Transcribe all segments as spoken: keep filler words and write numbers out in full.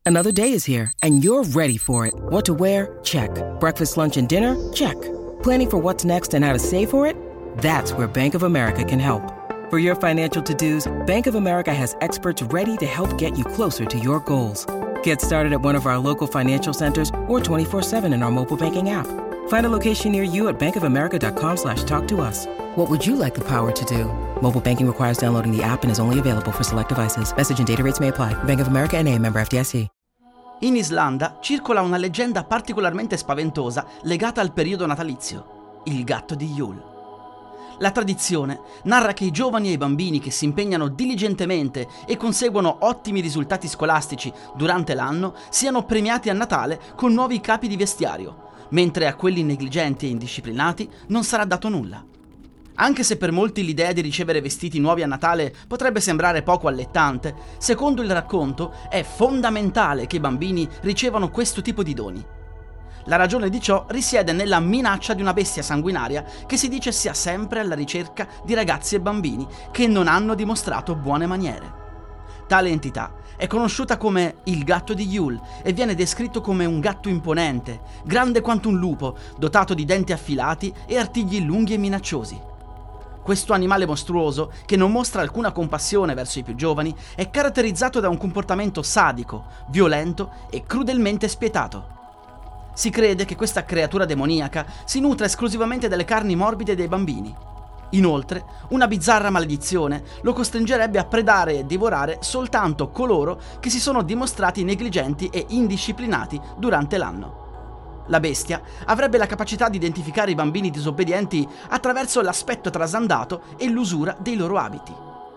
Another day is here, and you're ready for it. What to wear? Check. Breakfast, lunch, and dinner? Check. Planning for what's next and how to save for it? That's where Bank of America can help. For your financial to-dos, Bank of America has experts ready to help get you closer to your goals. Get started at one of our local financial centers or twenty-four seven in our mobile banking app. Find a location near you at bankofamerica.com slash talk to us. What would you like the power to do? Mobile banking requires downloading the app and is only available for select devices. Message and data rates may apply. Bank of America N A, member F D I C. In Islanda circola una leggenda particolarmente spaventosa legata al periodo natalizio, il gatto di Yule. La tradizione narra che i giovani e i bambini che si impegnano diligentemente e conseguono ottimi risultati scolastici durante l'anno siano premiati a Natale con nuovi capi di vestiario, mentre a quelli negligenti e indisciplinati non sarà dato nulla. Anche se per molti l'idea di ricevere vestiti nuovi a Natale potrebbe sembrare poco allettante, secondo il racconto è fondamentale che i bambini ricevano questo tipo di doni. La ragione di ciò risiede nella minaccia di una bestia sanguinaria che si dice sia sempre alla ricerca di ragazzi e bambini che non hanno dimostrato buone maniere. Tale entità è conosciuta come il gatto di Yule e viene descritto come un gatto imponente, grande quanto un lupo, dotato di denti affilati e artigli lunghi e minacciosi. Questo animale mostruoso, che non mostra alcuna compassione verso i più giovani, è caratterizzato da un comportamento sadico, violento e crudelmente spietato. Si crede che questa creatura demoniaca si nutra esclusivamente delle carni morbide dei bambini. Inoltre, una bizzarra maledizione lo costringerebbe a predare e divorare soltanto coloro che si sono dimostrati negligenti e indisciplinati durante l'anno. La bestia avrebbe la capacità di identificare i bambini disobbedienti attraverso l'aspetto trasandato e l'usura dei loro abiti.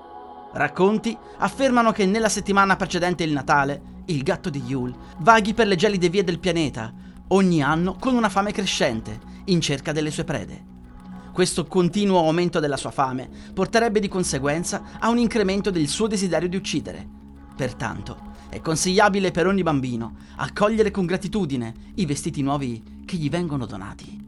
Racconti affermano che nella settimana precedente il Natale, il gatto di Yule vaghi per le gelide vie del pianeta, ogni anno con una fame crescente, in cerca delle sue prede. Questo continuo aumento della sua fame porterebbe di conseguenza a un incremento del suo desiderio di uccidere. Pertanto, è consigliabile per ogni bambino accogliere con gratitudine i vestiti nuovi che gli vengono donati.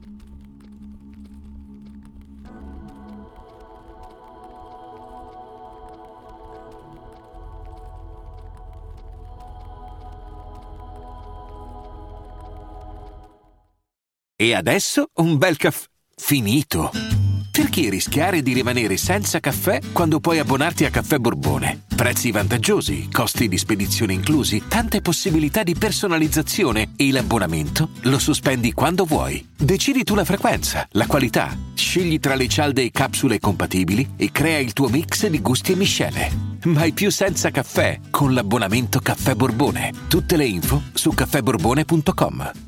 E adesso un bel caffè finito. Perché rischiare di rimanere senza caffè quando puoi abbonarti a Caffè Borbone? Prezzi vantaggiosi, costi di spedizione inclusi, tante possibilità di personalizzazione e l'abbonamento lo sospendi quando vuoi. Decidi tu la frequenza, la qualità, scegli tra le cialde e capsule compatibili e crea il tuo mix di gusti e miscele. Mai più senza caffè con l'abbonamento Caffè Borbone. Tutte le info su caffè borbone punto com.